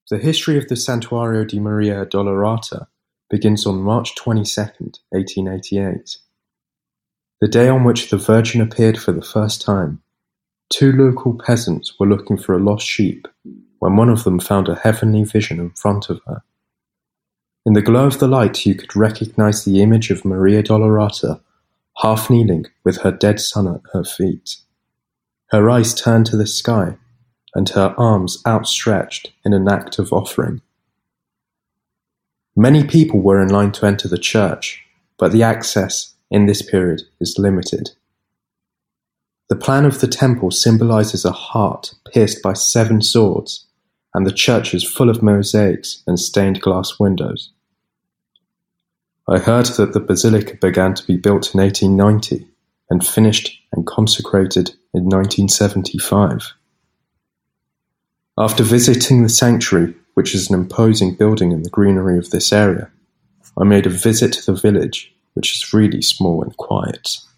The history of the Santuario di Maria Dolorata begins on March 22nd, 1888. The day on which the Virgin appeared for the first time, two local peasants were looking for a lost sheep when one of them found a heavenly vision in front of her. In the glow of the light you could recognize the image of Maria Dolorata, half kneeling with her dead son at her feet. Her eyes turned to the sky, and her arms outstretched in an act of offering. Many people were in line to enter the church, but the access in this period is limited. The plan of the temple symbolizes a heart pierced by 7 swords, and the church is full of mosaics and stained glass windows. I heard that the basilica began to be built in 1890 and finished and consecrated in 1975. After visiting the sanctuary, which is an imposing building in the greenery of this area, I made a visit to the village, which is really small and quiet.